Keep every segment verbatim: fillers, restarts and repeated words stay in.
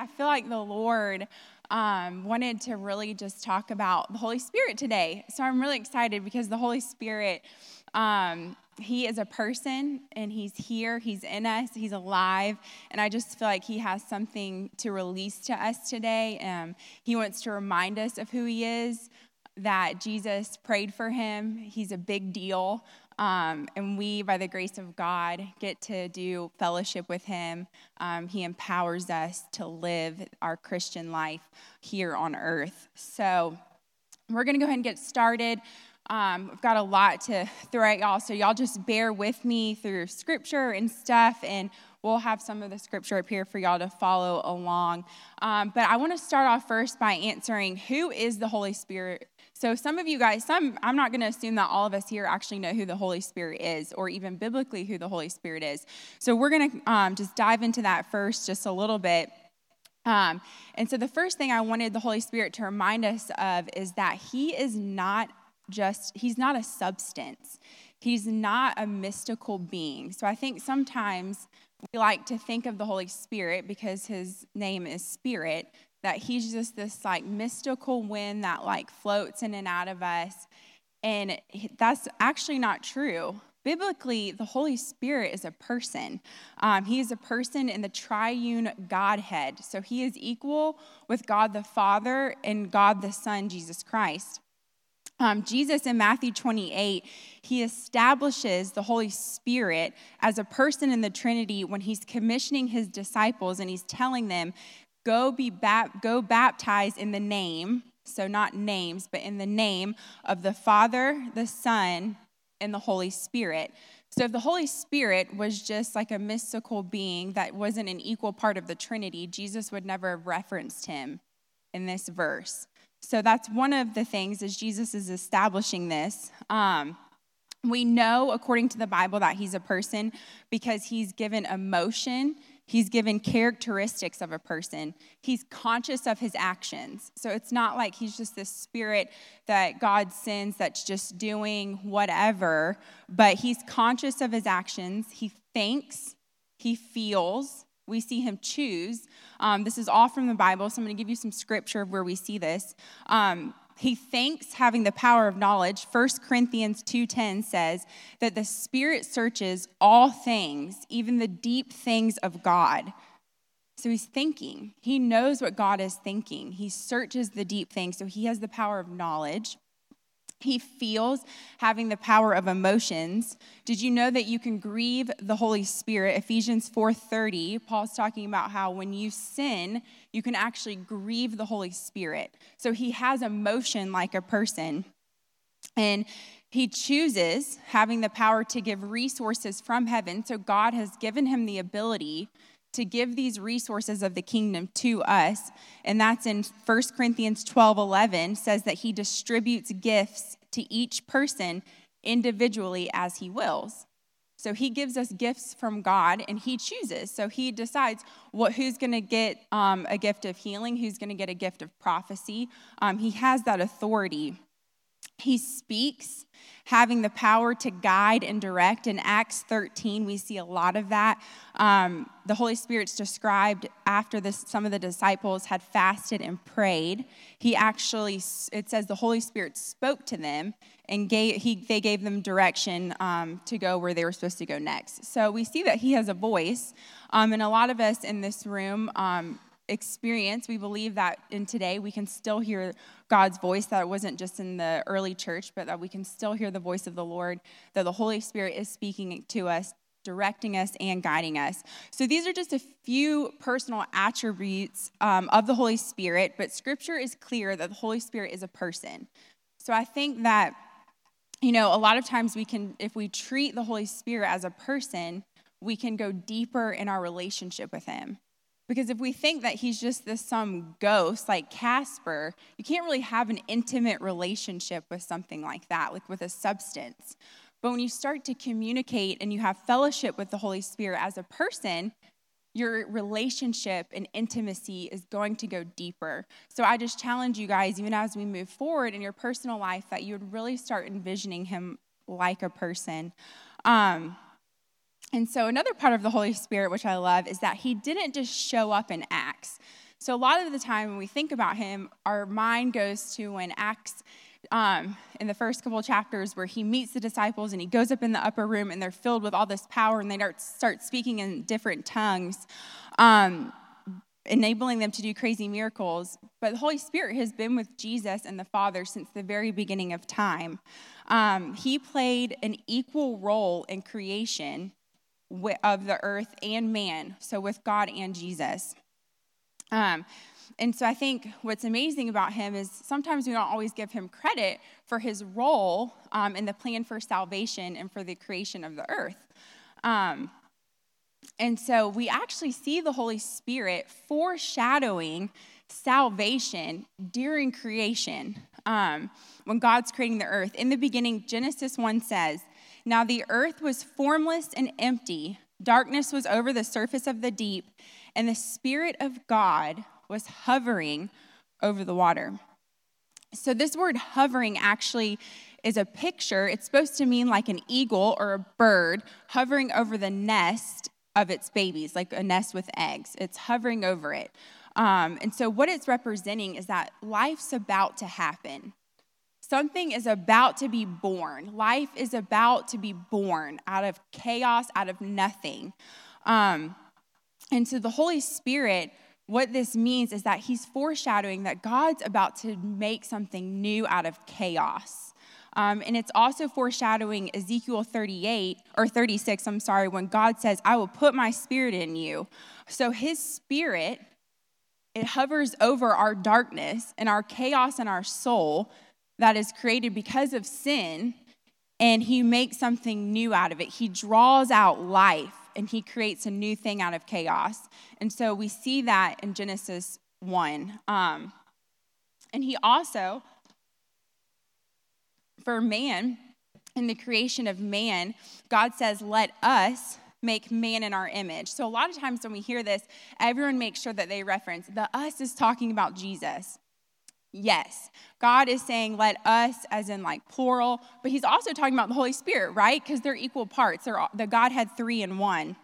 I feel like the Lord um, wanted to really just talk about the Holy Spirit today. So I'm really excited because the Holy Spirit, um, he is a person, and he's here, he's in us, he's alive, and I just feel like he has something to release to us today. Um, he wants to remind us of who he is, that Jesus prayed for him. He's a big deal. Um, and we, by the grace of God, get to do fellowship with him. Um, he empowers us to live our Christian life here on earth. So we're going to go ahead and get started. Um, I've got a lot to throw at y'all, so y'all just bear with me through scripture and stuff, and we'll have some of the scripture up here for y'all to follow along. Um, but I want to start off first by answering, who is the Holy Spirit? So some of you guys, some I'm not going to assume that all of us here actually know who the Holy Spirit is, or even biblically who the Holy Spirit is. So we're going to um, just dive into that first just a little bit. Um, and so the first thing I wanted the Holy Spirit to remind us of is that he is not just, he's not a substance. He's not a mystical being. So I think sometimes we like to think of the Holy Spirit, because his name is Spirit, that he's just this like mystical wind that like floats in and out of us. And that's actually not true. Biblically, the Holy Spirit is a person. Um, he is a person in the triune Godhead. So he is equal with God the Father and God the Son, Jesus Christ. Um, Jesus in Matthew twenty-eight, he establishes the Holy Spirit as a person in the Trinity when he's commissioning his disciples, and he's telling them, go be bap- go baptized in the name, so not names, but in the name of the Father, the Son, and the Holy Spirit. So if the Holy Spirit was just like a mystical being that wasn't an equal part of the Trinity, Jesus would never have referenced him in this verse. So that's one of the things, as Jesus is establishing this. Um, we know, according to the Bible, that he's a person because he's given emotion. He's given characteristics of a person. He's conscious of his actions. So it's not like he's just this spirit that God sends that's just doing whatever, but he's conscious of his actions. He thinks, he feels. We see him choose. Um, this is all from the Bible, so I'm going to give you some scripture of where we see this. Um, he thinks, having the power of knowledge. First Corinthians two ten says that the Spirit searches all things, even the deep things of God. So he's thinking. He knows what God is thinking. He searches the deep things, so he has the power of knowledge. He feels, having the power of emotions. Did you know that you can grieve the Holy Spirit? Ephesians four thirty, Paul's talking about how when you sin, you can actually grieve the Holy Spirit. So he has emotion like a person. And he chooses, having the power to give resources from heaven. So God has given him the ability to give these resources of the kingdom to us. And that's in First Corinthians twelve eleven, says that he distributes gifts to each person individually as he wills. So he gives us gifts from God, and he chooses. So he decides what who's going to get um, a gift of healing, who's going to get a gift of prophecy. Um, he has that authority. He speaks, having the power to guide and direct. In Acts thirteen, we see a lot of that. Um, the Holy Spirit's described after this, some of the disciples had fasted and prayed. He actually, it says the Holy Spirit spoke to them, and gave, he, they gave them direction um, to go where they were supposed to go next. So we see that he has a voice, um, and a lot of us in this room um, experience, we believe that in today we can still hear God's voice, that it wasn't just in the early church, but that we can still hear the voice of the Lord, that the Holy Spirit is speaking to us, directing us, and guiding us. So these are just a few personal attributes um, of the Holy Spirit, but Scripture is clear that the Holy Spirit is a person. So I think that, you know, a lot of times we can, if we treat the Holy Spirit as a person, we can go deeper in our relationship with him. Because if we think that he's just this some ghost like Casper, you can't really have an intimate relationship with something like that, like with a substance. But when you start to communicate and you have fellowship with the Holy Spirit as a person, your relationship and intimacy is going to go deeper. So I just challenge you guys, even as we move forward in your personal life, that you would really start envisioning him like a person. Um, And so another part of the Holy Spirit, which I love, is that he didn't just show up in Acts. So a lot of the time when we think about him, our mind goes to when Acts, um, in the first couple of chapters where he meets the disciples and he goes up in the upper room and they're filled with all this power and they start, start speaking in different tongues, um, enabling them to do crazy miracles. But the Holy Spirit has been with Jesus and the Father since the very beginning of time. Um, he played an equal role in creation of the earth and man, so with God and Jesus. Um, and so I think what's amazing about him is sometimes we don't always give him credit for his role um, in the plan for salvation and for the creation of the earth. Um, and so we actually see the Holy Spirit foreshadowing salvation during creation. Um, when God's creating the earth. In the beginning, Genesis one says, "Now the earth was formless and empty. Darkness was over the surface of the deep, and the Spirit of God was hovering over the water." So this word hovering actually is a picture. It's supposed to mean like an eagle or a bird hovering over the nest of its babies, like a nest with eggs. It's hovering over it. Um, and so what it's representing is that life's about to happen. Something is about to be born. Life is about to be born out of chaos, out of nothing. Um, and so the Holy Spirit, what this means is that he's foreshadowing that God's about to make something new out of chaos. Um, and it's also foreshadowing Ezekiel thirty-eight, or thirty-six, I'm sorry, when God says, "I will put my spirit in you." So his spirit, it hovers over our darkness and our chaos in our soul that is created because of sin, and he makes something new out of it. He draws out life, and he creates a new thing out of chaos. And so we see that in Genesis one. Um, and he also, for man, in the creation of man, God says, "Let us make man in our image." So a lot of times when we hear this, everyone makes sure that they reference the us is talking about Jesus. Yes, God is saying let us as in like plural, but he's also talking about the Holy Spirit, right? Because they're equal parts. They're, the Godhead three in one.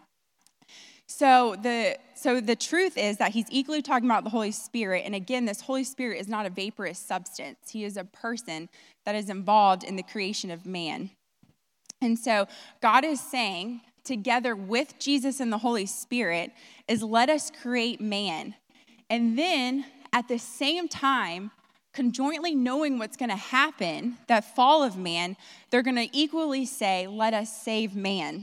So the so the truth is that he's equally talking about the Holy Spirit. And again, this Holy Spirit is not a vaporous substance. He is a person that is involved in the creation of man. And so God is saying, together with Jesus and the Holy Spirit, is let us create man. And then at the same time, conjointly knowing what's going to happen, that fall of man, they're going to equally say, let us save man.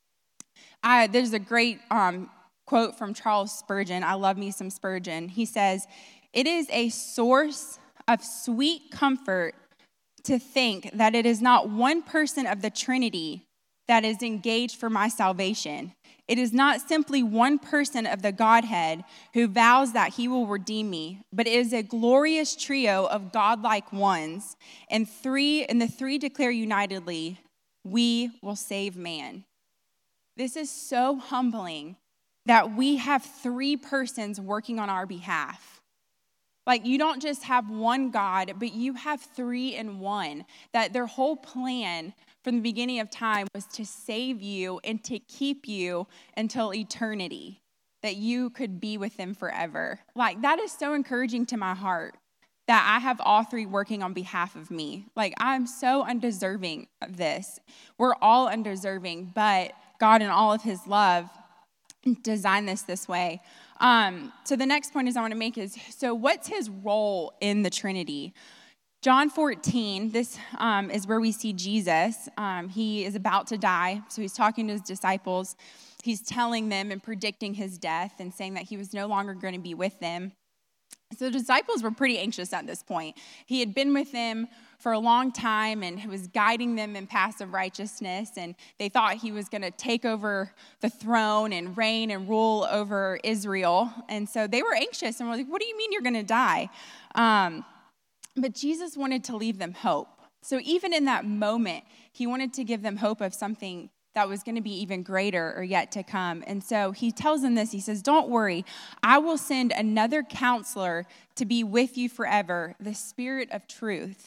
I, there's a great um, quote from Charles Spurgeon. I love me some Spurgeon. He says, "It is a source of sweet comfort to think that it is not one person of the Trinity that is engaged for my salvation. It is not simply one person of the Godhead who vows that he will redeem me, but it is a glorious trio of godlike ones, and three and the three declare unitedly, we will save man." This is so humbling that we have three persons working on our behalf. Like, you don't just have one God, but you have three in one, that their whole plan from the beginning of time was to save you and to keep you until eternity, that you could be with them forever. Like, that is so encouraging to my heart, that I have all three working on behalf of me. Like, I'm so undeserving of this. We're all undeserving, but God in all of his love designed this this way. Um, so the next point is I want to make is, so what's his role in the Trinity? John fourteen, this um, is where we see Jesus. Um, he is about to die, so he's talking to his disciples. He's telling them and predicting his death and saying that he was no longer going to be with them. So the disciples were pretty anxious at this point. He had been with them for a long time and was guiding them in paths of righteousness, and they thought he was going to take over the throne and reign and rule over Israel. And so they were anxious and were like, "What do you mean you're going to die?" Um, but Jesus wanted to leave them hope. So even in that moment, he wanted to give them hope of something that was going to be even greater or yet to come. And so he tells them this. He says, "Don't worry, I will send another counselor to be with you forever, the Spirit of truth.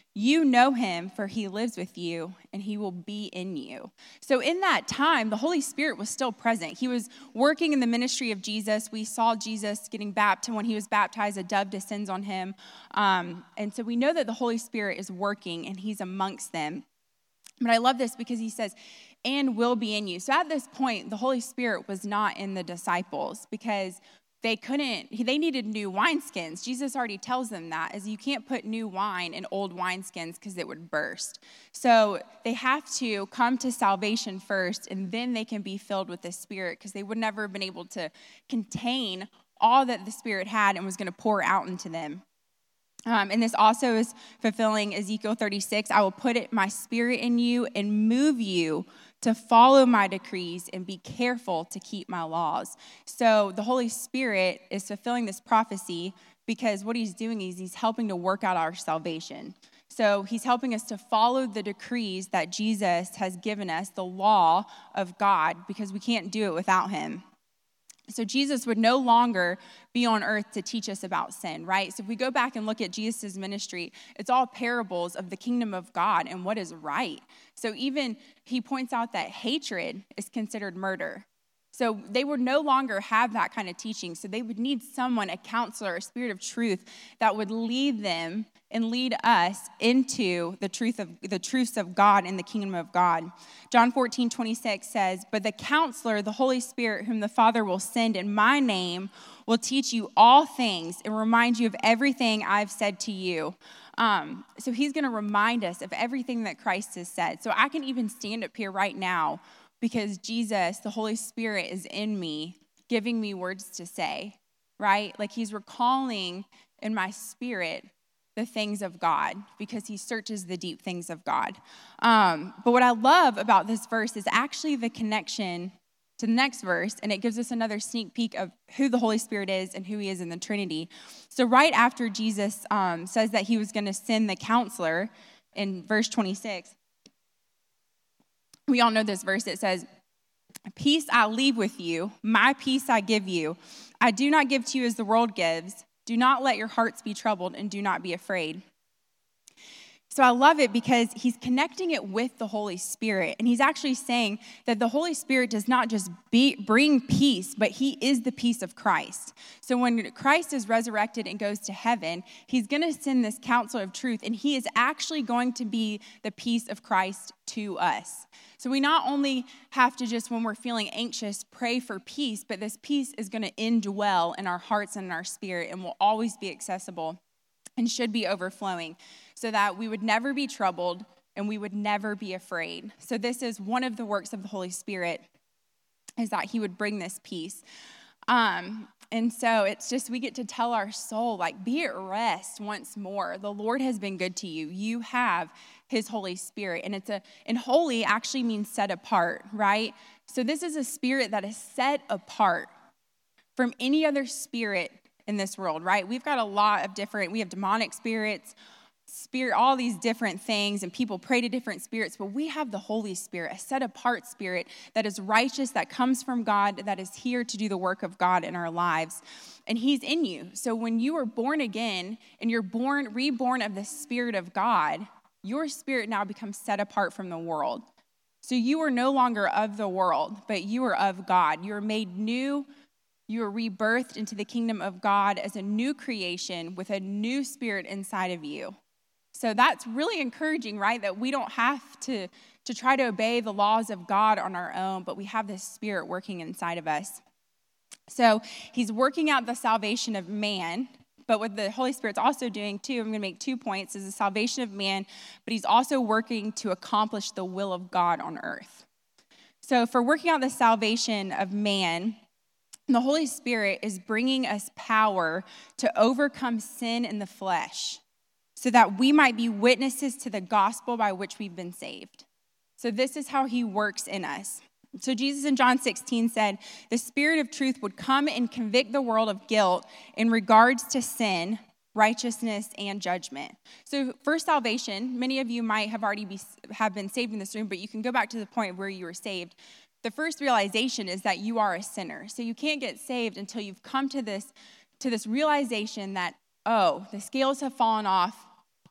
You know him, for he lives with you, and he will be in you. So in that time, the Holy Spirit was still present. He was working in the ministry of Jesus. We saw Jesus getting baptized. When he was baptized, a dove descends on him. Um, and so we know that the Holy Spirit is working, and he's amongst them. But I love this because he says, and will be in you. So at this point, the Holy Spirit was not in the disciples because they couldn't, they needed new wineskins. Jesus already tells them that, is you can't put new wine in old wineskins because it would burst. So they have to come to salvation first, and then they can be filled with the Spirit, because they would never have been able to contain all that the Spirit had and was going to pour out into them. Um, and this also is fulfilling Ezekiel thirty-six. I will put it, my Spirit in you and move you to follow my decrees and be careful to keep my laws. So the Holy Spirit is fulfilling this prophecy because what he's doing is he's helping to work out our salvation. So he's helping us to follow the decrees that Jesus has given us, the law of God, because we can't do it without him. So Jesus would no longer be on earth to teach us about sin, right? So if we go back and look at Jesus' ministry, it's all parables of the kingdom of God and what is right. So even he points out that hatred is considered murder. So they would no longer have that kind of teaching. So they would need someone, a counselor, a spirit of truth that would lead them and lead us into the truth of the truths of God and the kingdom of God. John fourteen twenty-six says, but the counselor, the Holy Spirit, whom the Father will send in my name, will teach you all things and remind you of everything I've said to you. Um, so he's going to remind us of everything that Christ has said. So I can even stand up here right now because Jesus, the Holy Spirit, is in me, giving me words to say, right? Like he's recalling in my spirit the things of God, because he searches the deep things of God. Um, but what I love about this verse is actually the connection to the next verse, and it gives us another sneak peek of who the Holy Spirit is and who he is in the Trinity. So right after Jesus um, says that he was going to send the counselor in verse twenty-six, we all know this verse. It says, peace I leave with you, my peace I give you. I do not give to you as the world gives. Do not let your hearts be troubled, and do not be afraid. So I love it because he's connecting it with the Holy Spirit. And he's actually saying that the Holy Spirit does not just be, bring peace, but he is the peace of Christ. So when Christ is resurrected and goes to heaven, he's going to send this counselor of truth, and he is actually going to be the peace of Christ to us. So we not only have to just, when we're feeling anxious, pray for peace, but this peace is going to indwell in our hearts and in our spirit and will always be accessible and should be overflowing, so that we would never be troubled and we would never be afraid. So this is one of the works of the Holy Spirit, is that he would bring this peace. Um, and so it's just, we get to tell our soul, like, be at rest once more. The Lord has been good to you. You have his Holy Spirit. And it's a, and holy actually means set apart, right? So this is a spirit that is set apart from any other spirit in this world, right? We've got a lot of different, we have demonic spirits, spirit, all these different things, and people pray to different spirits, but we have the Holy Spirit, a set apart spirit that is righteous, that comes from God, that is here to do the work of God in our lives, and he's in you. So when you are born again and you're born, reborn of the Spirit of God, your spirit now becomes set apart from the world. So you are no longer of the world, but you are of God. You are made new. You are rebirthed into the kingdom of God as a new creation with a new spirit inside of you. So that's really encouraging, right? That we don't have to, to try to obey the laws of God on our own, but we have this spirit working inside of us. So he's working out the salvation of man, but what the Holy Spirit's also doing too, I'm going to make two points, is the salvation of man, but he's also working to accomplish the will of God on earth. So for working out the salvation of man, the Holy Spirit is bringing us power to overcome sin in the flesh, so that we might be witnesses to the gospel by which we've been saved. So this is how he works in us. So Jesus in John sixteen said, the Spirit of truth would come and convict the world of guilt in regards to sin, righteousness, and judgment. So for salvation, many of you might have already be, have been saved in this room, but you can go back to the point where you were saved. The first realization is that you are a sinner. So you can't get saved until you've come to this, to this realization that, oh, the scales have fallen off.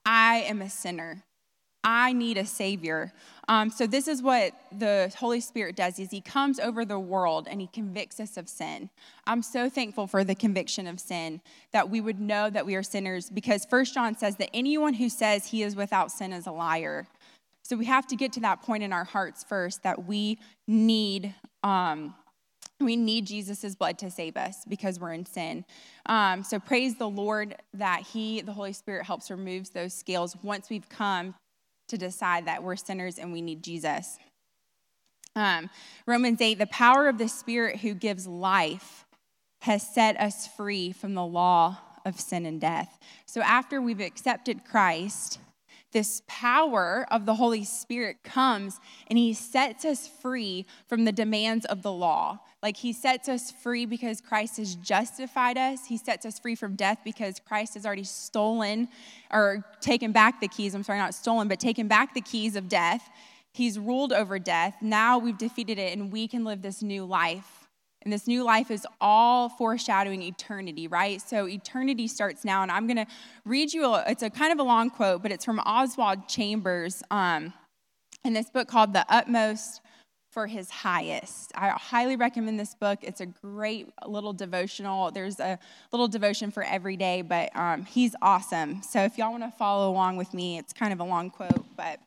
I am a sinner. I need a Savior. Um, so this is what the Holy Spirit does, is he comes over the world and he convicts us of sin. I'm so thankful for the conviction of sin, that we would know that we are sinners, because First John says that anyone who says he is without sin is a liar. So we have to get to that point in our hearts first, that we need um, we need Jesus' blood to save us because we're in sin. Um, so praise the Lord that he, the Holy Spirit, helps remove those scales once we've come to decide that we're sinners and we need Jesus. Um, Romans eight, the power of the Spirit who gives life has set us free from the law of sin and death. So after we've accepted Christ, this power of the Holy Spirit comes and he sets us free from the demands of the law. Like, he sets us free because Christ has justified us. He sets us free from death because Christ has already stolen or taken back the keys. I'm sorry, not stolen, but taken back the keys of death. He's ruled over death. Now we've defeated it and we can live this new life. And this new life is all foreshadowing eternity, right? So eternity starts now. And I'm going to read you, a, it's a kind of a long quote, but it's from Oswald Chambers um, in this book called The Utmost for His Highest. I highly recommend this book. It's a great little devotional. There's a little devotion for every day, but um, he's awesome. So if y'all want to follow along with me, it's kind of a long quote, but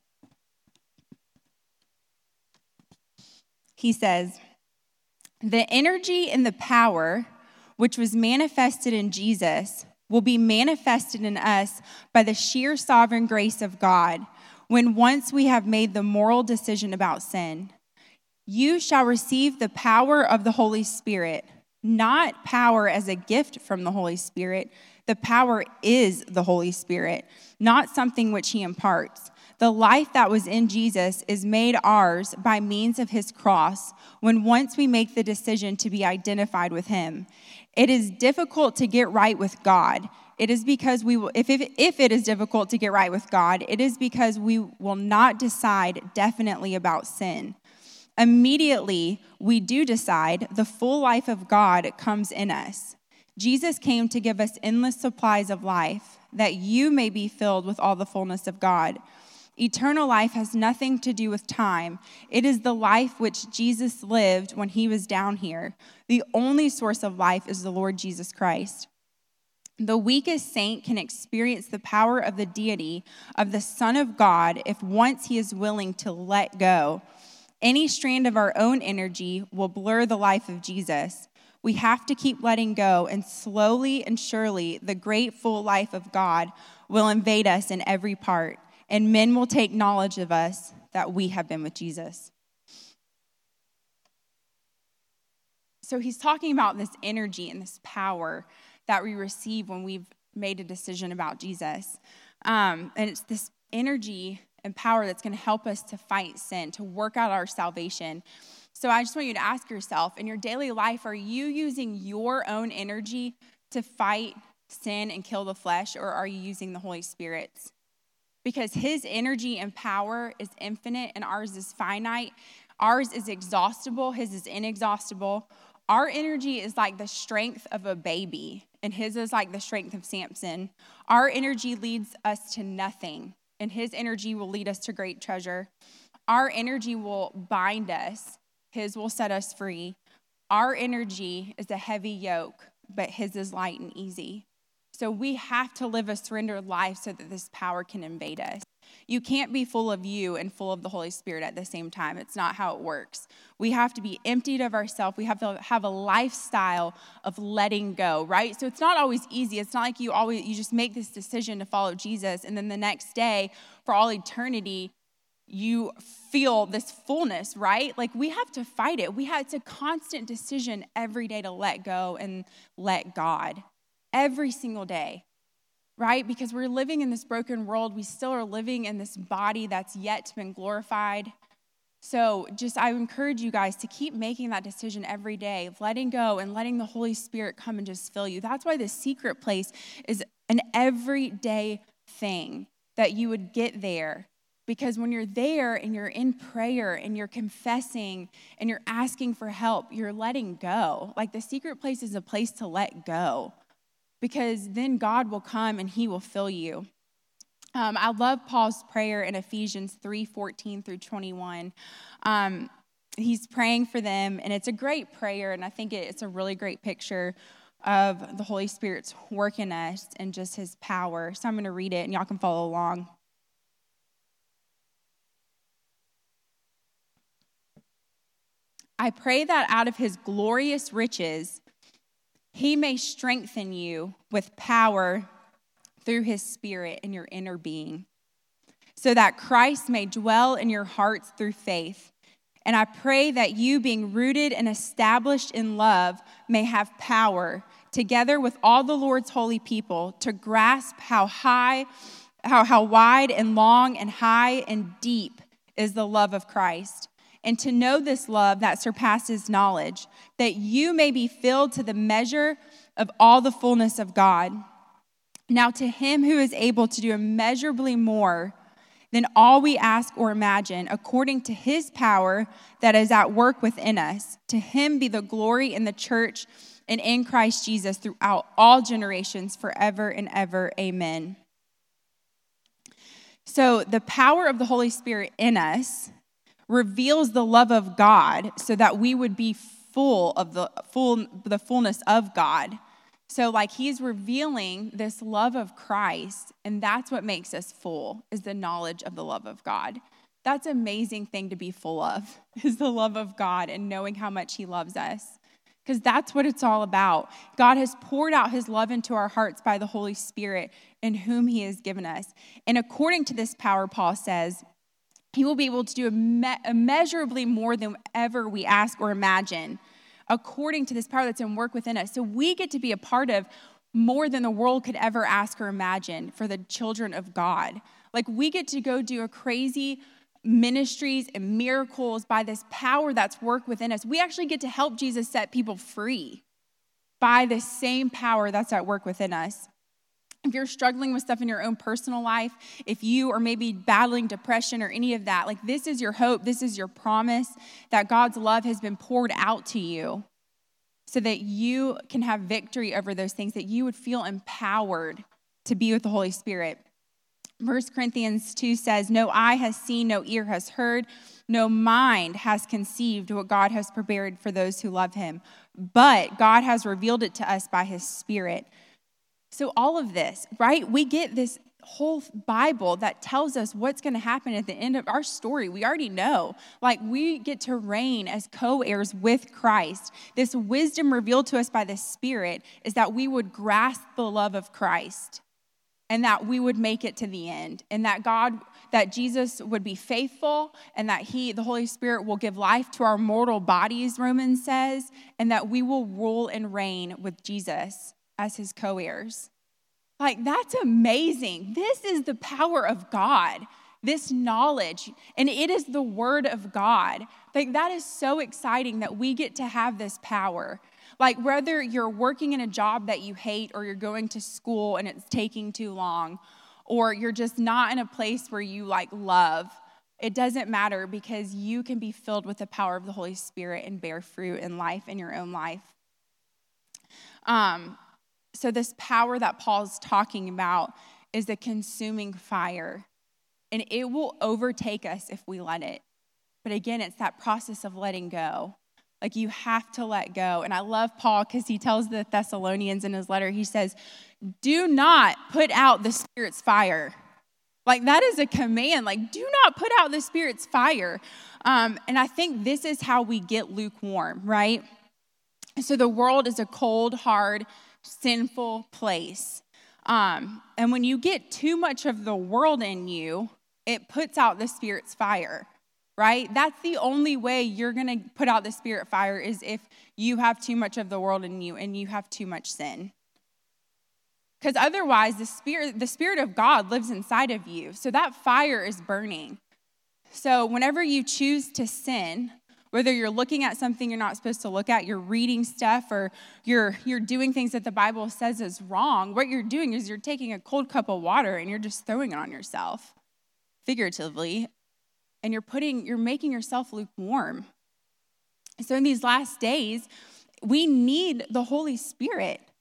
he says, "The energy and the power which was manifested in Jesus will be manifested in us by the sheer sovereign grace of God when once we have made the moral decision about sin. You shall receive the power of the Holy Spirit, not power as a gift from the Holy Spirit. The power is the Holy Spirit, not something which he imparts. The life that was in Jesus is made ours by means of his cross when once we make the decision to be identified with him. It is difficult to get right with God. It is because we will, if, if, if it is difficult to get right with God, it is because we will not decide definitely about sin. Immediately, we do decide, the full life of God comes in us. Jesus came to give us endless supplies of life, that you may be filled with all the fullness of God. Eternal life has nothing to do with time. It is the life which Jesus lived when he was down here. The only source of life is the Lord Jesus Christ. The weakest saint can experience the power of the deity of the Son of God if once he is willing to let go. Any strand of our own energy will blur the life of Jesus. We have to keep letting go, and slowly and surely, the great full life of God will invade us in every part, and men will take knowledge of us that we have been with Jesus." So he's talking about this energy and this power that we receive when we've made a decision about Jesus. Um, and it's this energy and power that's going to help us to fight sin, to work out our salvation. So I just want you to ask yourself, in your daily life, are you using your own energy to fight sin and kill the flesh, or are you using the Holy Spirit's? Because his energy and power is infinite and ours is finite. Ours is exhaustible, his is inexhaustible. Our energy is like the strength of a baby, and his is like the strength of Samson. Our energy leads us to nothing, and his energy will lead us to great treasure. Our energy will bind us. His will set us free. Our energy is a heavy yoke, but his is light and easy. So we have to live a surrendered life so that this power can invade us. You can't be full of you and full of the Holy Spirit at the same time. It's not how it works. We have to be emptied of ourselves. We have to have a lifestyle of letting go, right? So it's not always easy. It's not like you always you just make this decision to follow Jesus, and then the next day, for all eternity, you feel this fullness, right? Like, we have to fight it. We have, it's a constant decision every day to let go and let God. Every single day, right? Because we're living in this broken world. We still are living in this body that's yet to be glorified. So just, I encourage you guys to keep making that decision every day, of letting go and letting the Holy Spirit come and just fill you. That's why the secret place is an everyday thing, that you would get there. Because when you're there and you're in prayer and you're confessing and you're asking for help, you're letting go. Like, the secret place is a place to let go. Because then God will come and he will fill you. Um, I love Paul's prayer in Ephesians three fourteen through twenty-one. Um, he's praying for them, and it's a great prayer, and I think it, it's a really great picture of the Holy Spirit's work in us and just his power. So I'm going to read it, and y'all can follow along. I pray that out of his glorious riches, he may strengthen you with power through his Spirit in your inner being, so that Christ may dwell in your hearts through faith. And I pray that you, being rooted and established in love, may have power, together with all the Lord's holy people, to grasp how high, how, how wide and long and high and deep is the love of Christ, and to know this love that surpasses knowledge, that you may be filled to the measure of all the fullness of God. Now to him who is able to do immeasurably more than all we ask or imagine, according to his power that is at work within us, to him be the glory in the church and in Christ Jesus throughout all generations, forever and ever. Amen. So the power of the Holy Spirit in us reveals the love of God so that we would be full of the full the fullness of God. So like he's revealing this love of Christ, and that's what makes us full, is the knowledge of the love of God. That's an amazing thing to be full of, is the love of God and knowing how much he loves us. Because that's what it's all about. God has poured out his love into our hearts by the Holy Spirit in whom he has given us. And according to this power, Paul says, he will be able to do imme- immeasurably more than ever we ask or imagine, according to this power that's in work within us. So we get to be a part of more than the world could ever ask or imagine for the children of God. Like we get to go do a crazy ministries and miracles by this power that's worked within us. We actually get to help Jesus set people free by the same power that's at work within us. If you're struggling with stuff in your own personal life, if you are maybe battling depression or any of that, like this is your hope, this is your promise that God's love has been poured out to you so that you can have victory over those things, that you would feel empowered to be with the Holy Spirit. First Corinthians two says, no eye has seen, no ear has heard, no mind has conceived what God has prepared for those who love him. But God has revealed it to us by his Spirit. So all of this, right? We get this whole Bible that tells us what's going to happen at the end of our story. We already know. Like we get to reign as co-heirs with Christ. This wisdom revealed to us by the Spirit is that we would grasp the love of Christ and that we would make it to the end, and that God, that Jesus would be faithful, and that he, the Holy Spirit, will give life to our mortal bodies, Romans says, and that we will rule and reign with Jesus as his co-heirs. Like, that's amazing. This is the power of God, this knowledge, and it is the word of God. Like, that is so exciting that we get to have this power. Like, whether you're working in a job that you hate, or you're going to school and it's taking too long, or you're just not in a place where you like love, it doesn't matter, because you can be filled with the power of the Holy Spirit and bear fruit in life, in your own life. Um, so this power that Paul's talking about is a consuming fire, and it will overtake us if we let it. But again, it's that process of letting go. Like, you have to let go. And I love Paul because he tells the Thessalonians in his letter, he says, do not put out the Spirit's fire. Like, that is a command. Like, do not put out the Spirit's fire. Um, and I think this is how we get lukewarm, right? So the world is a cold, hard, sinful place. Um, and when you get too much of the world in you, it puts out the Spirit's fire. Right? That's the only way you're going to put out the Spirit fire, is if you have too much of the world in you and you have too much sin. Because otherwise, the Spirit, the Spirit of God lives inside of you. So that fire is burning. So whenever you choose to sin, whether you're looking at something you're not supposed to look at, you're reading stuff, or you're you're doing things that the Bible says is wrong, what you're doing is you're taking a cold cup of water and you're just throwing it on yourself, figuratively. And you're putting, you're making yourself lukewarm. So in these last days, we need the Holy Spirit.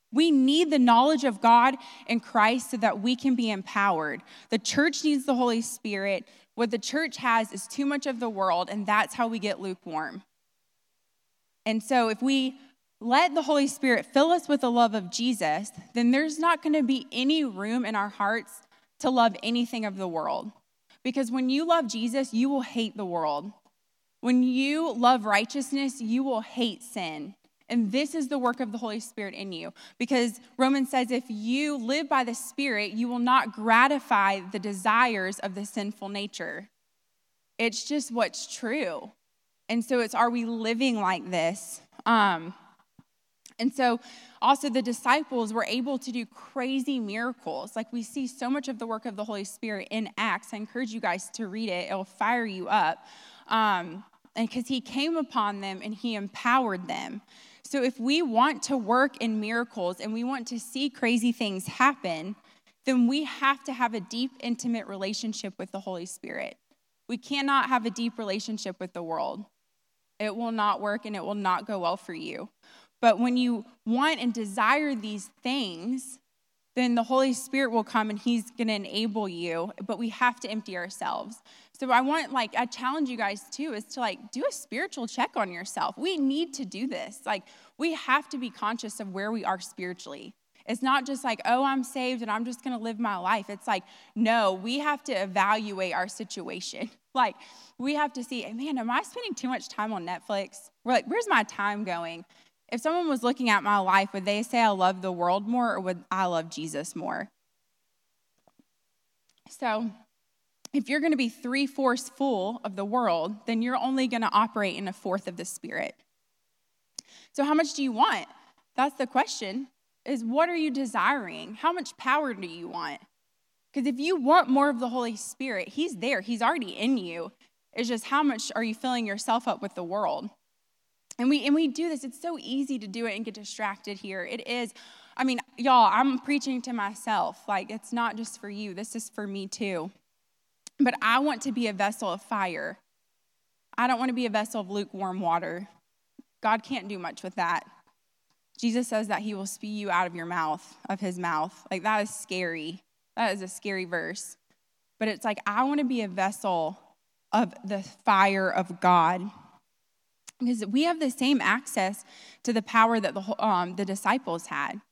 We need the knowledge of God and Christ so that we can be empowered. The church needs the Holy Spirit. What the church has is too much of the world, and that's how we get lukewarm. And so if we let the Holy Spirit fill us with the love of Jesus, then there's not going to be any room in our hearts to love anything of the world. Because when you love Jesus, you will hate the world. When you love righteousness, you will hate sin. And this is the work of the Holy Spirit in you. Because Romans says if you live by the Spirit, you will not gratify the desires of the sinful nature. It's just what's true. And so it's, are we living like this? Um, and so also the disciples were able to do crazy miracles. Like we see so much of the work of the Holy Spirit in Acts. I encourage you guys to read it. It'll fire you up. Um, and because he came upon them and he empowered them. So if we want to work in miracles and we want to see crazy things happen, then we have to have a deep, intimate relationship with the Holy Spirit. We cannot have a deep relationship with the world. It will not work and it will not go well for you. But when you want and desire these things, then the Holy Spirit will come and he's going to enable you, but we have to empty ourselves. So I want, like, I challenge you guys too, is to like do a spiritual check on yourself. We need to do this. Like, we have to be conscious of where we are spiritually. It's not just like, oh, I'm saved and I'm just going to live my life. It's like, no, we have to evaluate our situation. Like, we have to see, man, am I spending too much time on Netflix? We're like, where's my time going? If someone was looking at my life, would they say I love the world more or would I love Jesus more? So if you're going to be three-fourths full of the world, then you're only going to operate in a fourth of the Spirit. So how much do you want? That's the question, is what are you desiring? How much power do you want? Because if you want more of the Holy Spirit, he's there. He's already in you. It's just how much are you filling yourself up with the world? And we and we do this. It's so easy to do it and get distracted here. It is. I mean, y'all, I'm preaching to myself. Like, it's not just for you. This is for me too. But I want to be a vessel of fire. I don't want to be a vessel of lukewarm water. God can't do much with that. Jesus says that he will spew you out of your mouth, of his mouth. Like, that is scary. That is a scary verse. But it's like, I want to be a vessel of the fire of God. Because we have the same access to the power that the, um, the disciples had.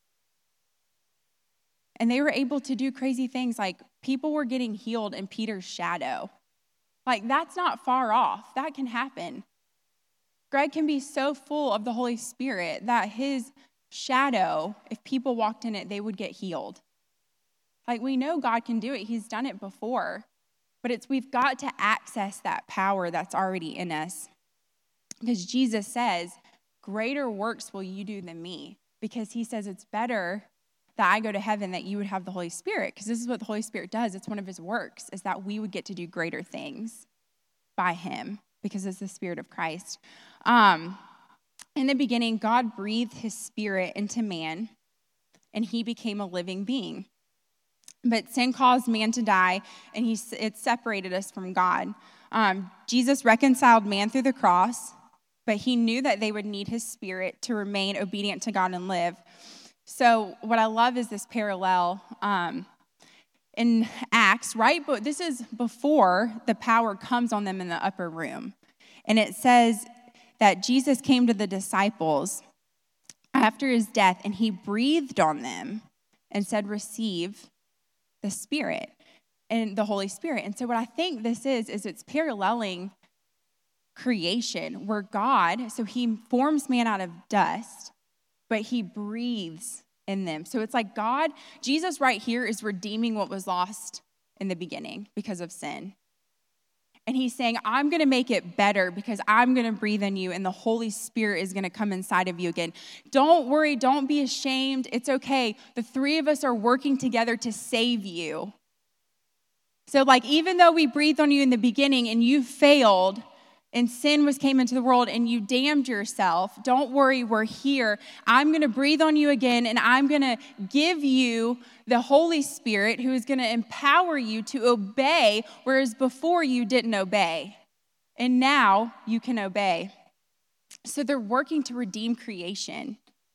And they were able to do crazy things, like people were getting healed in Peter's shadow. Like, that's not far off. That can happen. Greg can be so full of the Holy Spirit that his shadow, if people walked in it, they would get healed. Like, we know God can do it. He's done it before. But it's we've got to access that power that's already in us. Because Jesus says, greater works will you do than me. Because he says it's better that I go to heaven that you would have the Holy Spirit. Because this is what the Holy Spirit does. It's one of his works, is that we would get to do greater things by him. Because it's the Spirit of Christ. Um, in the beginning, God breathed his Spirit into man, and he became a living being. But sin caused man to die, and he it separated us from God. Um, Jesus reconciled man through the cross, but he knew that they would need his Spirit to remain obedient to God and live. So what I love is this parallel um, in Acts, right? But this is before the power comes on them in the upper room. And it says that Jesus came to the disciples after his death, and he breathed on them and said, receive the Spirit and the Holy Spirit. And so what I think this is, is it's paralleling creation, where God, so he forms man out of dust, but he breathes in them. So it's like God, Jesus right here is redeeming what was lost in the beginning because of sin. And he's saying, I'm going to make it better because I'm going to breathe in you and the Holy Spirit is going to come inside of you again. Don't worry. Don't be ashamed. It's okay. The three of us are working together to save you. So like, even though we breathed on you in the beginning and you failed and sin was came into the world and you damned yourself, don't worry, we're here. I'm going to breathe on you again, and I'm going to give you the Holy Spirit who is going to empower you to obey, whereas before you didn't obey. And now you can obey. So they're working to redeem creation.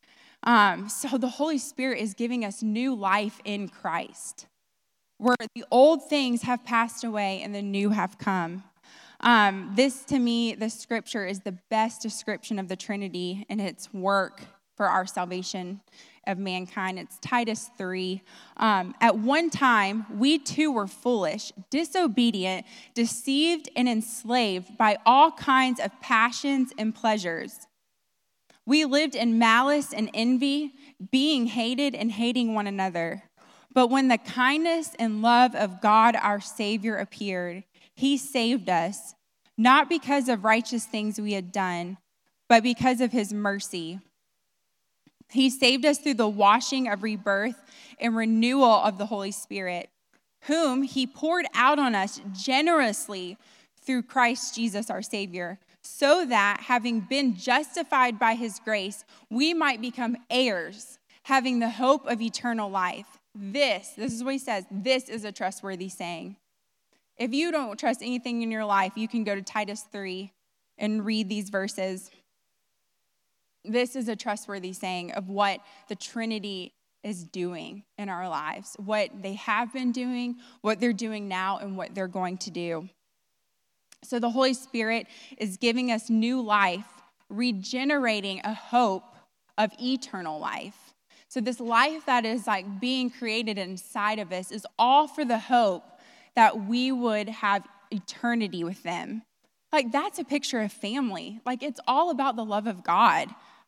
Um, so the Holy Spirit is giving us new life in Christ, where the old things have passed away and the new have come. Um, this, to me, the scripture is the best description of the Trinity and its work for our salvation of mankind. It's Titus three. Um, At one time, we too were foolish, disobedient, deceived, and enslaved by all kinds of passions and pleasures. We lived in malice and envy, being hated and hating one another. But when the kindness and love of God our Savior appeared, he saved us, not because of righteous things we had done, but because of his mercy. He saved us through the washing of rebirth and renewal of the Holy Spirit, whom he poured out on us generously through Christ Jesus our Savior, so that, having been justified by his grace, we might become heirs, having the hope of eternal life. This, this is what he says, this is a trustworthy saying. If you don't trust anything in your life, you can go to Titus three and read these verses. This is a trustworthy saying of what the Trinity is doing in our lives, what they have been doing, what they're doing now, and what they're going to do. So the Holy Spirit is giving us new life, regenerating a hope of eternal life. So this life that is like being created inside of us is all for the hope that we would have eternity with them. Like, that's a picture of family. Like, it's all about the love of God.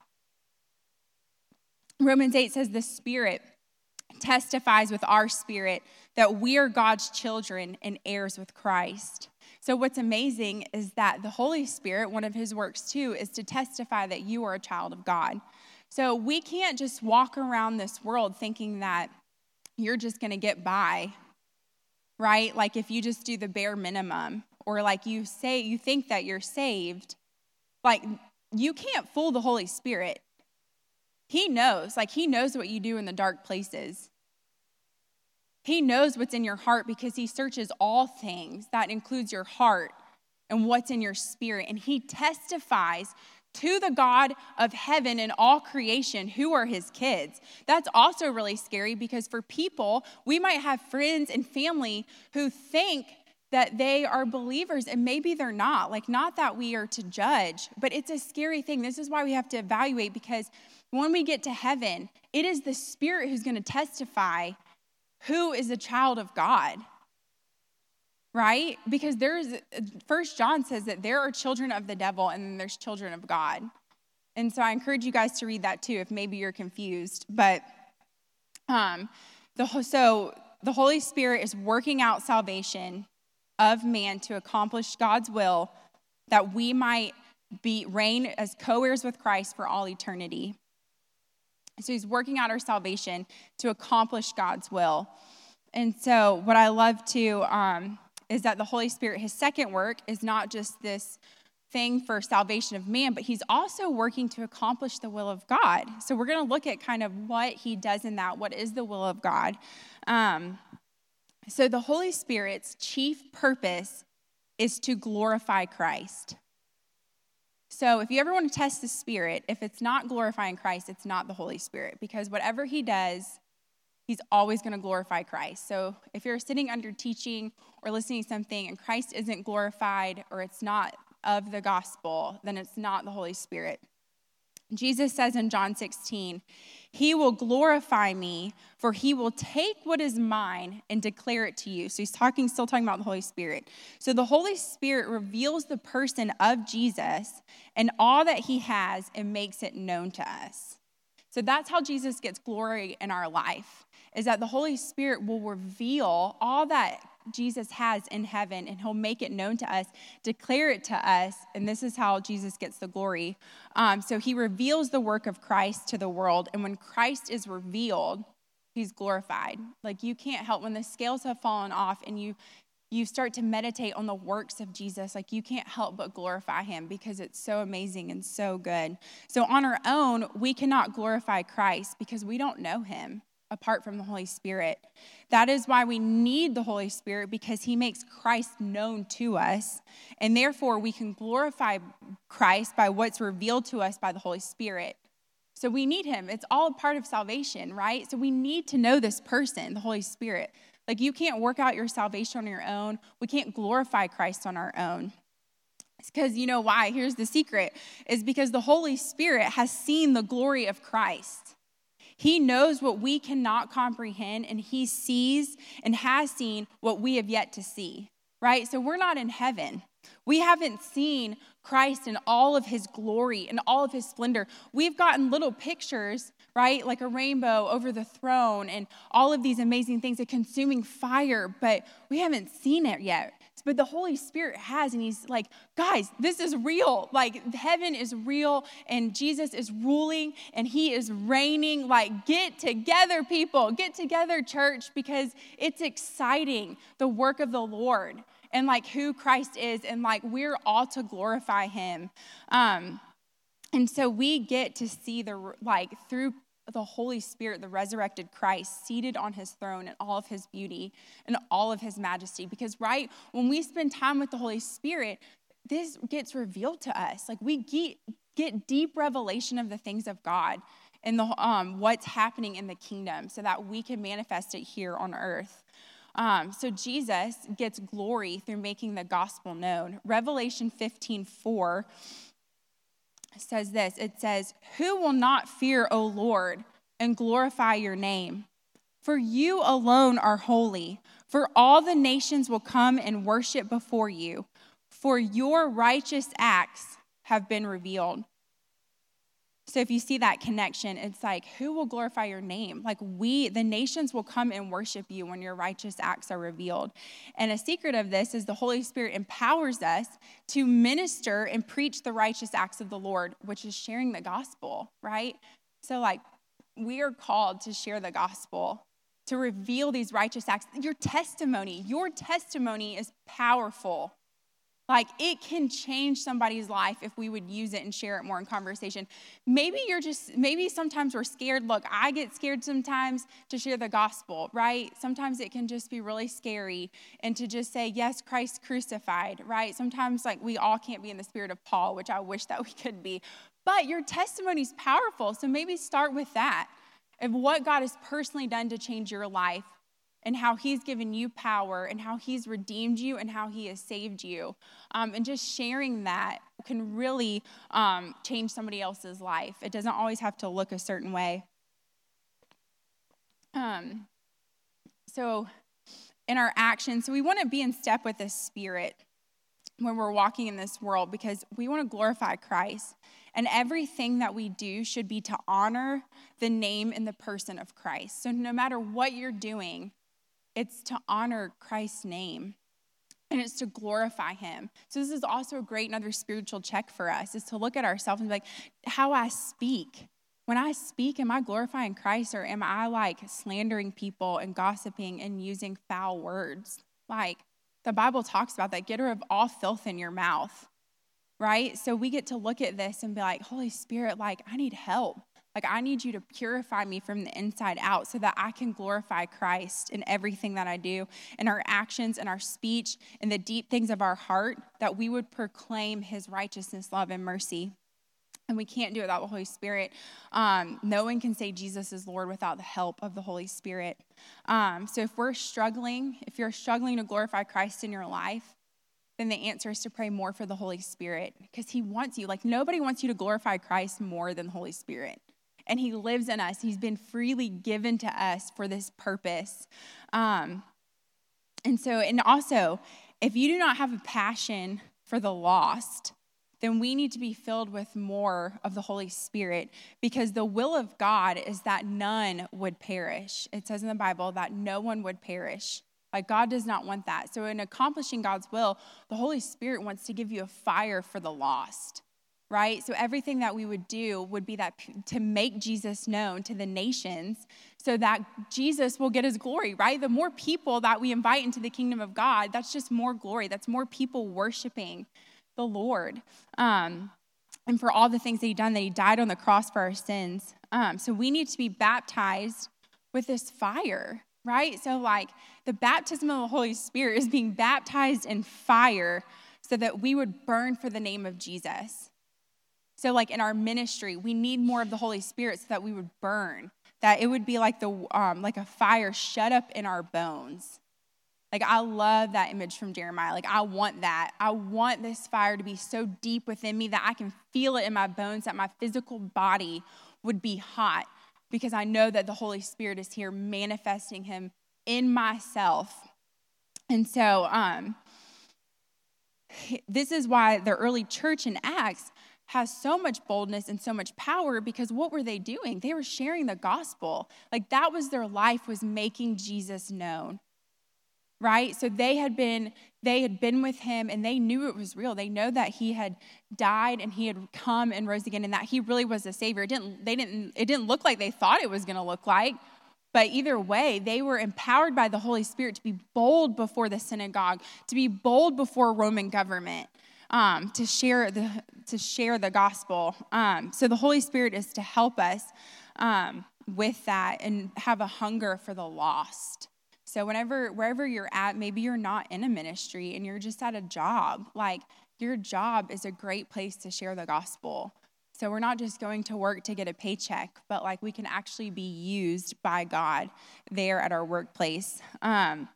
Romans eight says the Spirit testifies with our spirit that we are God's children and heirs with Christ. So what's amazing is that the Holy Spirit, one of his works too, is to testify that you are a child of God. So we can't just walk around this world thinking that you're just going to get by, right? Like if you just do the bare minimum, or like you say, you think that you're saved, like you can't fool the Holy Spirit. He knows, like he knows what you do in the dark places. He knows what's in your heart because he searches all things. That includes your heart and what's in your spirit. And he testifies to the God of heaven and all creation who are his kids. That's also really scary because for people, we might have friends and family who think that they are believers and maybe they're not. Like, not that we are to judge, but it's a scary thing. This is why we have to evaluate, because when we get to heaven, it is the Spirit who's going to testify who is a child of God, right? Because there's, First John says that there are children of the devil and then there's children of God. And so I encourage you guys to read that too if maybe you're confused. But um, the so the Holy Spirit is working out salvation of man to accomplish God's will, that we might be reign as co-heirs with Christ for all eternity. So he's working out our salvation to accomplish God's will. And so what I love too um, is that the Holy Spirit, his second work is not just this thing for salvation of man, but he's also working to accomplish the will of God. So we're going to look at kind of what he does in that. What is the will of God? Um, so the Holy Spirit's chief purpose is to glorify Christ. So if you ever want to test the Spirit, if it's not glorifying Christ, it's not the Holy Spirit, because whatever he does, he's always going to glorify Christ. So if you're sitting under teaching or listening to something and Christ isn't glorified, or it's not of the gospel, then it's not the Holy Spirit. Jesus says in John sixteen, he will glorify me, for he will take what is mine and declare it to you. So he's talking, still talking about the Holy Spirit. So the Holy Spirit reveals the person of Jesus and all that he has and makes it known to us. So that's how Jesus gets glory in our life, is that the Holy Spirit will reveal all that Jesus has in heaven, and he'll make it known to us, declare it to us, and this is how Jesus gets the glory. Um, so he reveals the work of Christ to the world, and when Christ is revealed, he's glorified. Like, you can't help, when the scales have fallen off and you you start to meditate on the works of Jesus, like you can't help but glorify him because it's so amazing and so good. So on our own, we cannot glorify Christ because we don't know him apart from the Holy Spirit. That is why we need the Holy Spirit, because he makes Christ known to us. And therefore, we can glorify Christ by what's revealed to us by the Holy Spirit. So we need him. It's all a part of salvation, right? So we need to know this person, the Holy Spirit. Like, you can't work out your salvation on your own. We can't glorify Christ on our own. It's because, you know why? Here's the secret, is because the Holy Spirit has seen the glory of Christ. He knows what we cannot comprehend, and he sees and has seen what we have yet to see, right? So we're not in heaven. We haven't seen Christ in all of his glory and all of his splendor. We've gotten little pictures, right? Like a rainbow over the throne and all of these amazing things, a consuming fire, but we haven't seen it yet. But the Holy Spirit has, and he's like, guys, this is real. Like, heaven is real, and Jesus is ruling, and he is reigning. Like, get together, people. Get together, church, because it's exciting, the work of the Lord, and like who Christ is, and like we're all to glorify him. Um, and so we get to see the, like, through the Holy Spirit, the resurrected Christ, seated on his throne in all of his beauty and all of his majesty. Because, right, when we spend time with the Holy Spirit, this gets revealed to us. Like, we get, get deep revelation of the things of God and the um, what's happening in the kingdom so that we can manifest it here on earth. Um, so Jesus gets glory through making the gospel known. Revelation fifteen four says this. It says, "Who will not fear, O Lord, and glorify your name? For you alone are holy. For all the nations will come and worship before you. For your righteous acts have been revealed." So if you see that connection, it's like, who will glorify your name? Like, we, the nations will come and worship you when your righteous acts are revealed. And a secret of this is the Holy Spirit empowers us to minister and preach the righteous acts of the Lord, which is sharing the gospel, right? So, like, we are called to share the gospel, to reveal these righteous acts. Your testimony, your testimony is powerful. Like, it can change somebody's life if we would use it and share it more in conversation. Maybe you're just, maybe sometimes we're scared. Look, I get scared sometimes to share the gospel, right? Sometimes it can just be really scary and to just say, yes, Christ crucified, right? Sometimes, like, we all can't be in the spirit of Paul, which I wish that we could be. But your testimony is powerful, so maybe start with that, of what God has personally done to change your life, and how he's given you power, and how he's redeemed you, and how he has saved you. Um, and just sharing that can really um, change somebody else's life. It doesn't always have to look a certain way. Um, so in our actions, so we want to be in step with the Spirit when we're walking in this world, because we want to glorify Christ. And everything that we do should be to honor the name and the person of Christ. So no matter what you're doing, it's to honor Christ's name, and it's to glorify him. So this is also a great another spiritual check for us, is to look at ourselves and be like, how I speak. When I speak, am I glorifying Christ, or am I like slandering people and gossiping and using foul words? Like, the Bible talks about that. Get rid of all filth in your mouth, right? So we get to look at this and be like, Holy Spirit, like, I need help. Like, I need you to purify me from the inside out so that I can glorify Christ in everything that I do, in our actions, in our speech, in the deep things of our heart, that we would proclaim his righteousness, love, and mercy. And we can't do it without the Holy Spirit. Um, no one can say Jesus is Lord without the help of the Holy Spirit. Um, so if we're struggling, if you're struggling to glorify Christ in your life, then the answer is to pray more for the Holy Spirit, because he wants you. Like, nobody wants you to glorify Christ more than the Holy Spirit. And he lives in us. He's been freely given to us for this purpose. Um, and so, and also, if you do not have a passion for the lost, then we need to be filled with more of the Holy Spirit, because the will of God is that none would perish. It says in the Bible that no one would perish. Like, God does not want that. So in accomplishing God's will, the Holy Spirit wants to give you a fire for the lost. Right? So everything that we would do would be that to make Jesus known to the nations so that Jesus will get his glory, right? The more people that we invite into the kingdom of God, that's just more glory. That's more people worshiping the Lord. Um, and for all the things that he done, that he died on the cross for our sins. Um, so we need to be baptized with this fire, right? So like the baptism of the Holy Spirit is being baptized in fire so that we would burn for the name of Jesus. So like in our ministry, we need more of the Holy Spirit so that we would burn, that it would be like the um, like a fire shut up in our bones. Like, I love that image from Jeremiah. Like, I want that. I want this fire to be so deep within me that I can feel it in my bones, that my physical body would be hot, because I know that the Holy Spirit is here manifesting him in myself. And so um, this is why the early church in Acts has so much boldness and so much power, because what were they doing? They were sharing the gospel. Like, that was their life, was making Jesus known. Right? So they had been they had been with him, and they knew it was real. They know that he had died and he had come and rose again, and that he really was the Savior. It didn't they didn't it didn't look like they thought it was going to look like, but either way, they were empowered by the Holy Spirit to be bold before the synagogue, to be bold before Roman government, um, to share the to share the gospel. Um, so the Holy Spirit is to help us um, with that and have a hunger for the lost. So whenever, wherever you're at, maybe you're not in a ministry and you're just at a job. Like, your job is a great place to share the gospel. So we're not just going to work to get a paycheck, but like we can actually be used by God there at our workplace. Um,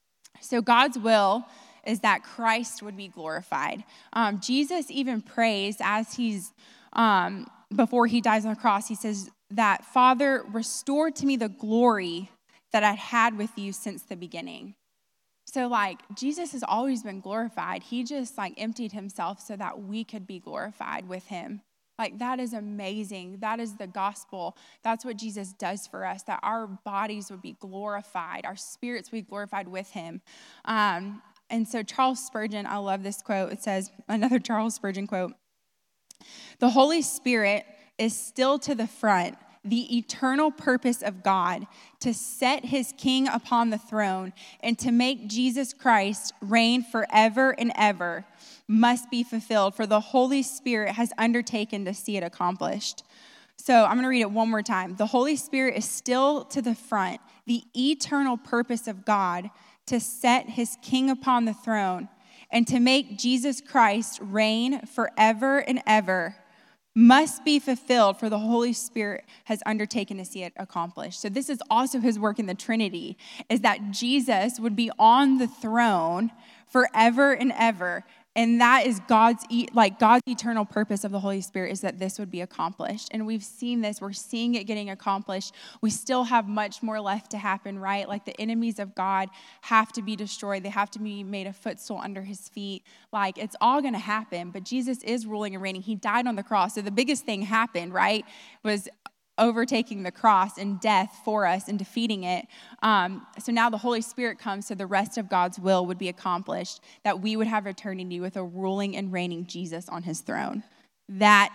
so God's will is that Christ would be glorified. Um, Jesus even prays as he's, um, before he dies on the cross, he says that, Father, restore to me the glory that I'd had with you since the beginning. So like, Jesus has always been glorified. He just like emptied himself so that we could be glorified with him. Like, that is amazing. That is the gospel. That's what Jesus does for us, that our bodies would be glorified, our spirits would be glorified with him. Um, and so Charles Spurgeon, I love this quote. It says, another Charles Spurgeon quote, "The Holy Spirit is still to the front, the eternal purpose of God, to set his king upon the throne and to make Jesus Christ reign forever and ever, must be fulfilled, for the Holy Spirit has undertaken to see it accomplished." So I'm going to read it one more time. "The Holy Spirit is still to the front, the eternal purpose of God, to set his king upon the throne and to make Jesus Christ reign forever and ever, must be fulfilled, for the Holy Spirit has undertaken to see it accomplished." So this is also his work in the Trinity, is that Jesus would be on the throne forever and ever. And that is God's, like God's eternal purpose of the Holy Spirit, is that this would be accomplished. And we've seen this. We're seeing it getting accomplished. We still have much more left to happen, right? Like, the enemies of God have to be destroyed. They have to be made a footstool under his feet. Like, it's all going to happen. But Jesus is ruling and reigning. He died on the cross. So the biggest thing happened, right, was overtaking the cross and death for us and defeating it. Um, so now the Holy Spirit comes, so the rest of God's will would be accomplished, that we would have eternity with a ruling and reigning Jesus on his throne. That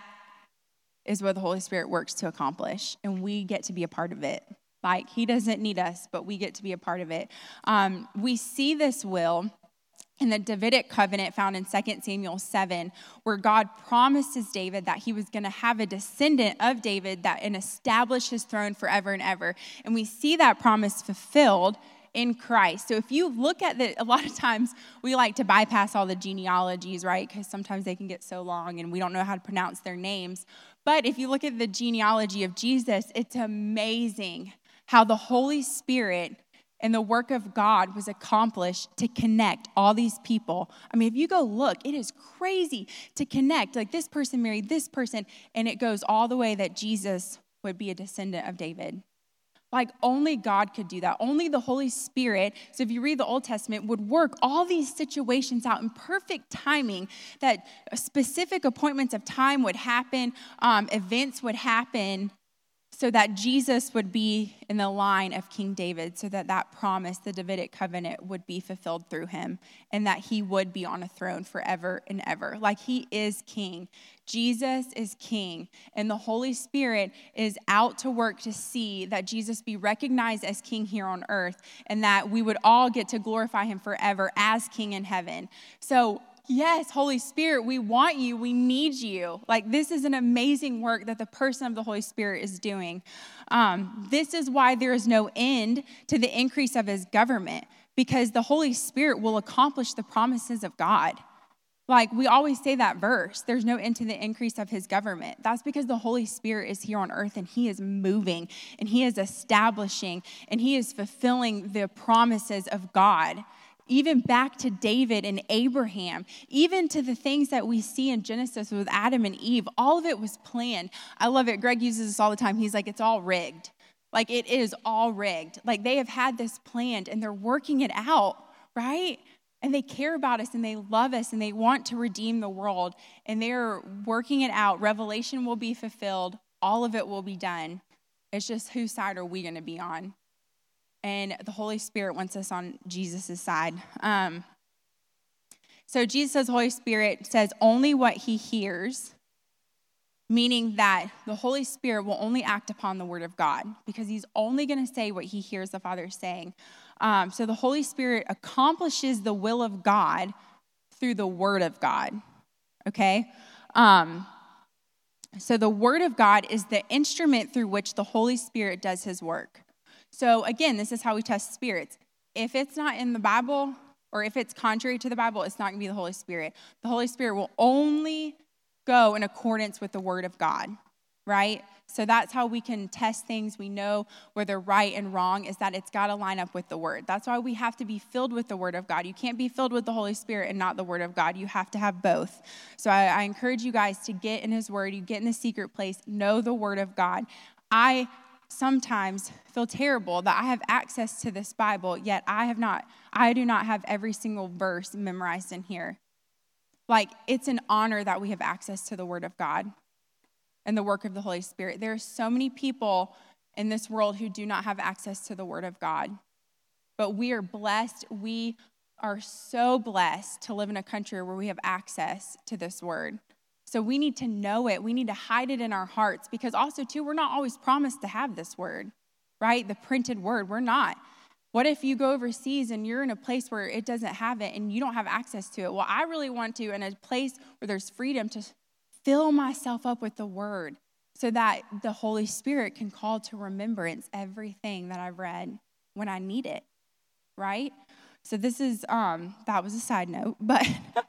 is what the Holy Spirit works to accomplish, and we get to be a part of it. Like, he doesn't need us, but we get to be a part of it. Um, we see this will in the Davidic covenant found in Second Samuel seven, where God promises David that he was going to have a descendant of David that and establish his throne forever and ever. And we see that promise fulfilled in Christ. So if you look at the, a lot of times we like to bypass all the genealogies, right? Because sometimes they can get so long and we don't know how to pronounce their names. But if you look at the genealogy of Jesus, it's amazing how the Holy Spirit and the work of God was accomplished to connect all these people. I mean, if you go look, it is crazy to connect. Like, this person married this person, and it goes all the way that Jesus would be a descendant of David. Like, only God could do that. Only the Holy Spirit, so if you read the Old Testament, would work all these situations out in perfect timing, that specific appointments of time would happen, um, events would happen, so that Jesus would be in the line of King David, so that that promise, the Davidic covenant, would be fulfilled through him, and that he would be on a throne forever and ever. Like, he is king. Jesus is king, and the Holy Spirit is out to work to see that Jesus be recognized as king here on earth, and that we would all get to glorify him forever as king in heaven. So, yes, Holy Spirit, we want you. We need you. Like, this is an amazing work that the person of the Holy Spirit is doing. Um, this is why there is no end to the increase of his government, because the Holy Spirit will accomplish the promises of God. Like, we always say that verse, there's no end to the increase of his government. That's because the Holy Spirit is here on earth, and he is moving, and he is establishing, and he is fulfilling the promises of God. Even back to David and Abraham, even to the things that we see in Genesis with Adam and Eve, all of it was planned. I love it. Greg uses this all the time. He's like, it's all rigged. Like, it is all rigged. Like, they have had this planned, and they're working it out, right? And they care about us, and they love us, and they want to redeem the world, and they're working it out. Revelation will be fulfilled. All of it will be done. It's just, whose side are we going to be on? And the Holy Spirit wants us on Jesus' side. Um, so Jesus' Holy Spirit says only what he hears, meaning that the Holy Spirit will only act upon the word of God, because he's only going to say what he hears the Father saying. Um, so the Holy Spirit accomplishes the will of God through the word of God, okay? Um, so the word of God is the instrument through which the Holy Spirit does his work. So again, this is how we test spirits. If it's not in the Bible, or if it's contrary to the Bible, it's not going to be the Holy Spirit. The Holy Spirit will only go in accordance with the word of God, right? So that's how we can test things. We know whether right and wrong is that it's got to line up with the word. That's why we have to be filled with the word of God. You can't be filled with the Holy Spirit and not the word of God. You have to have both. So I, I encourage you guys to get in his word. You get in the secret place, know the word of God. I sometimes feel terrible that I have access to this Bible, yet I have not, I do not have every single verse memorized in here. Like, it's an honor that we have access to the word of God and the work of the Holy Spirit. There are so many people in this world who do not have access to the word of God. But we are blessed. We are so blessed to live in a country where we have access to this word. So we need to know it. We need to hide it in our hearts, because also, too, we're not always promised to have this word, right? The printed word. We're not. What if you go overseas and you're in a place where it doesn't have it and you don't have access to it? Well, I really want to, in a place where there's freedom, to fill myself up with the word so that the Holy Spirit can call to remembrance everything that I've read when I need it, right? So this is, um, that was a side note, but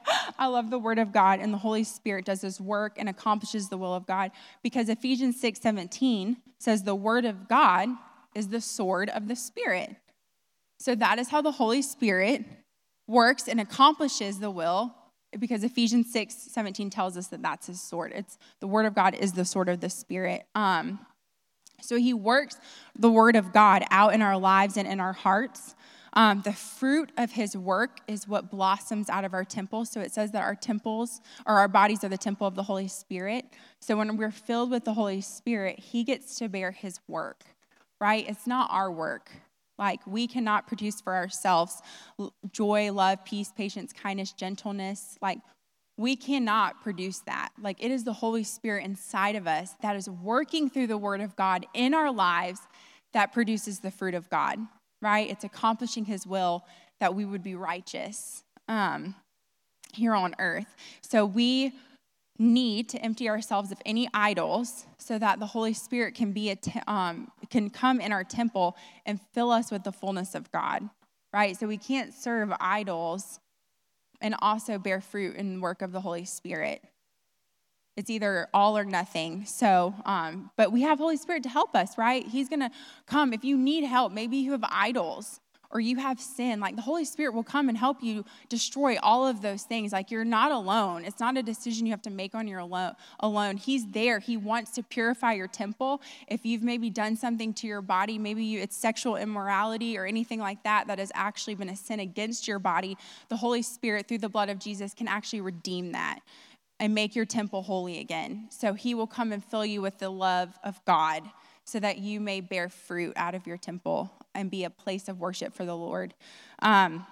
I love the word of God, and the Holy Spirit does his work and accomplishes the will of God, because Ephesians six seventeen says the word of God is the sword of the Spirit. So that is how the Holy Spirit works and accomplishes the will, because Ephesians six seventeen tells us that that's his sword. It's the word of God is the sword of the Spirit. Um, so he works the word of God out in our lives and in our hearts. Um, the fruit of his work is what blossoms out of our temple. So it says that our temples, or our bodies, are the temple of the Holy Spirit. So when we're filled with the Holy Spirit, he gets to bear his work, right? It's not our work. Like, we cannot produce for ourselves joy, love, peace, patience, kindness, gentleness. Like, we cannot produce that. Like, it is the Holy Spirit inside of us that is working through the word of God in our lives that produces the fruit of God, right? It's accomplishing his will that we would be righteous um, here on earth. So we need to empty ourselves of any idols so that the Holy Spirit can be a te- um, can come in our temple and fill us with the fullness of God, right? So we can't serve idols and also bear fruit in the work of the Holy Spirit. It's either all or nothing. So, um, but we have Holy Spirit to help us, right? He's going to come. If you need help, maybe you have idols or you have sin, like the Holy Spirit will come and help you destroy all of those things. Like, you're not alone. It's not a decision you have to make on your alone. alone. He's there. He wants to purify your temple. If you've maybe done something to your body, maybe you, it's sexual immorality or anything like that that has actually been a sin against your body, the Holy Spirit, through the blood of Jesus, can actually redeem that and make your temple holy again. So he will come and fill you with the love of God so that you may bear fruit out of your temple and be a place of worship for the Lord. Um,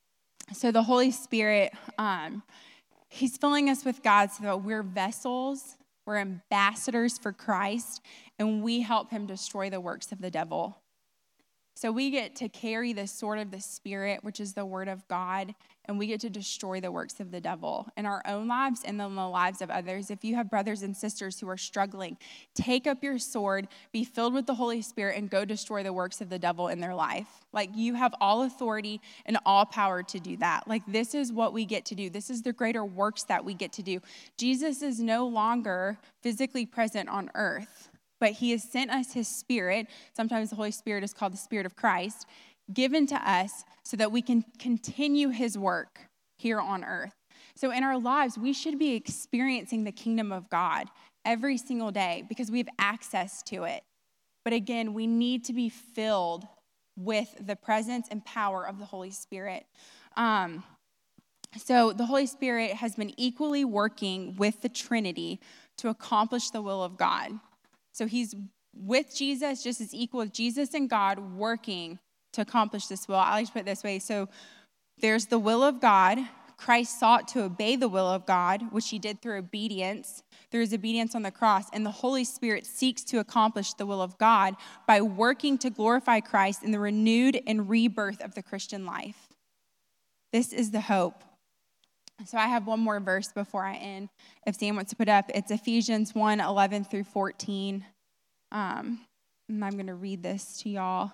so the Holy Spirit, um, he's filling us with God so that we're vessels, we're ambassadors for Christ, and we help him destroy the works of the devil. So we get to carry the sword of the Spirit, which is the word of God, and we get to destroy the works of the devil in our own lives and in the lives of others. If you have brothers and sisters who are struggling, take up your sword, be filled with the Holy Spirit, and go destroy the works of the devil in their life. Like, you have all authority and all power to do that. Like, this is what we get to do. This is the greater works that we get to do. Jesus is no longer physically present on earth, but he has sent us his Spirit. Sometimes the Holy Spirit is called the Spirit of Christ, given to us so that we can continue his work here on earth. So in our lives, we should be experiencing the kingdom of God every single day because we have access to it. But again, we need to be filled with the presence and power of the Holy Spirit. Um, so the Holy Spirit has been equally working with the Trinity to accomplish the will of God. So he's with Jesus, just as equal with Jesus and God working to accomplish this will. I like to put it this way. So there's the will of God. Christ sought to obey the will of God, which he did through obedience, through his obedience on the cross. And the Holy Spirit seeks to accomplish the will of God by working to glorify Christ in the renewed and rebirth of the Christian life. This is the hope. So I have one more verse before I end. If Sam wants to put up, it's Ephesians one, eleven through fourteen. Um, and I'm going to read this to y'all.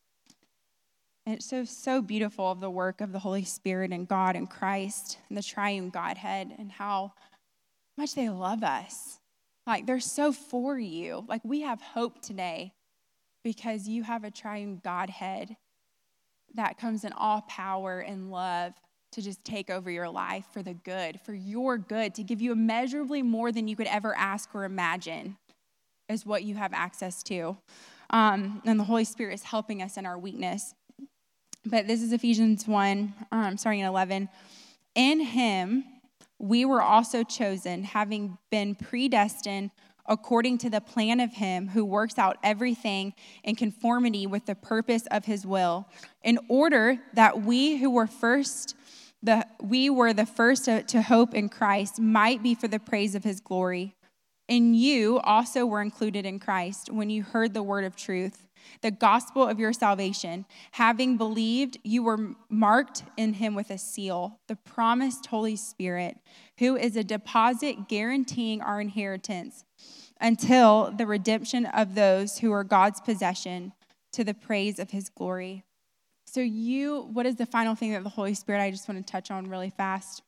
And it's so, so beautiful of the work of the Holy Spirit and God and Christ and the triune Godhead and how much they love us. Like, they're so for you. Like, we have hope today because you have a triune Godhead that comes in all power and love to just take over your life for the good, for your good, to give you immeasurably more than you could ever ask or imagine is what you have access to. Um, and the Holy Spirit is helping us in our weakness. But this is Ephesians one, um, starting at eleven. In him we were also chosen, having been predestined according to the plan of him who works out everything in conformity with the purpose of his will, in order that we who were first The, we were the first to, to hope in Christ might be for the praise of his glory. And you also were included in Christ when you heard the word of truth, the gospel of your salvation. Having believed, you were marked in him with a seal, the promised Holy Spirit, who is a deposit guaranteeing our inheritance until the redemption of those who are God's possession, to the praise of his glory. So you, what is the final thing that the Holy Spirit, I just want to touch on really fast,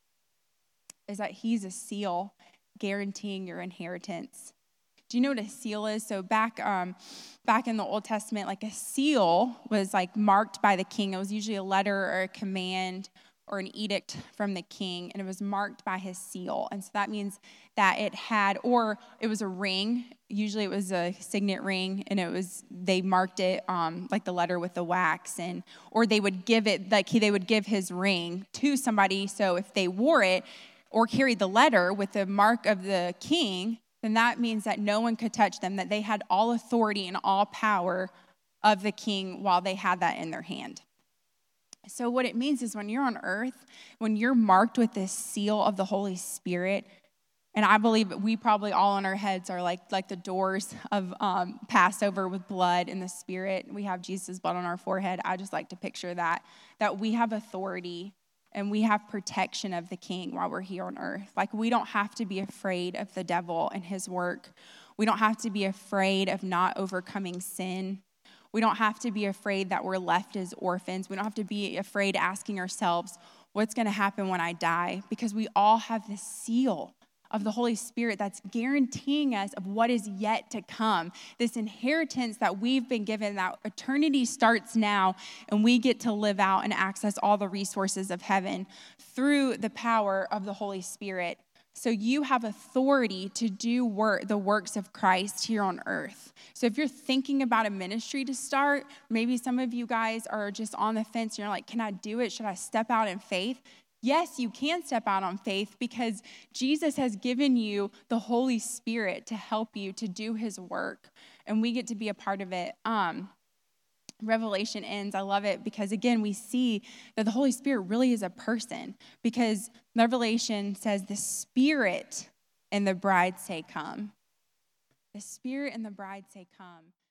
is that he's a seal guaranteeing your inheritance. Do you know what a seal is? So back um, back in the Old Testament, like a seal was like marked by the king. It was usually a letter or a command or an edict from the king, and it was marked by his seal. And so that means that it had, or it was a ring. Usually it was a signet ring, and it was, they marked it um, like the letter with the wax, and or they would give it, like he, they would give his ring to somebody. So if they wore it or carried the letter with the mark of the king, then that means that no one could touch them, that they had all authority and all power of the king while they had that in their hand. So what it means is when you're on earth, when you're marked with this seal of the Holy Spirit, and I believe that we probably all in our heads are like, like the doors of um, Passover with blood in the Spirit. We have Jesus' blood on our forehead. I just like to picture that, that we have authority and we have protection of the King while we're here on earth. Like, we don't have to be afraid of the devil and his work. We don't have to be afraid of not overcoming sin. We don't have to be afraid that we're left as orphans. We don't have to be afraid asking ourselves, what's going to happen when I die? Because we all have this seal of the Holy Spirit that's guaranteeing us of what is yet to come. This inheritance that we've been given, that eternity starts now, and we get to live out and access all the resources of heaven through the power of the Holy Spirit. So you have authority to do work, the works of Christ here on earth. So if you're thinking about a ministry to start, maybe some of you guys are just on the fence and you're like, can I do it? Should I step out in faith? Yes, you can step out on faith because Jesus has given you the Holy Spirit to help you to do his work, and we get to be a part of it. Um, Revelation ends. I love it because, again, we see that the Holy Spirit really is a person, because Revelation says the Spirit and the bride say, come. The Spirit and the bride say, come.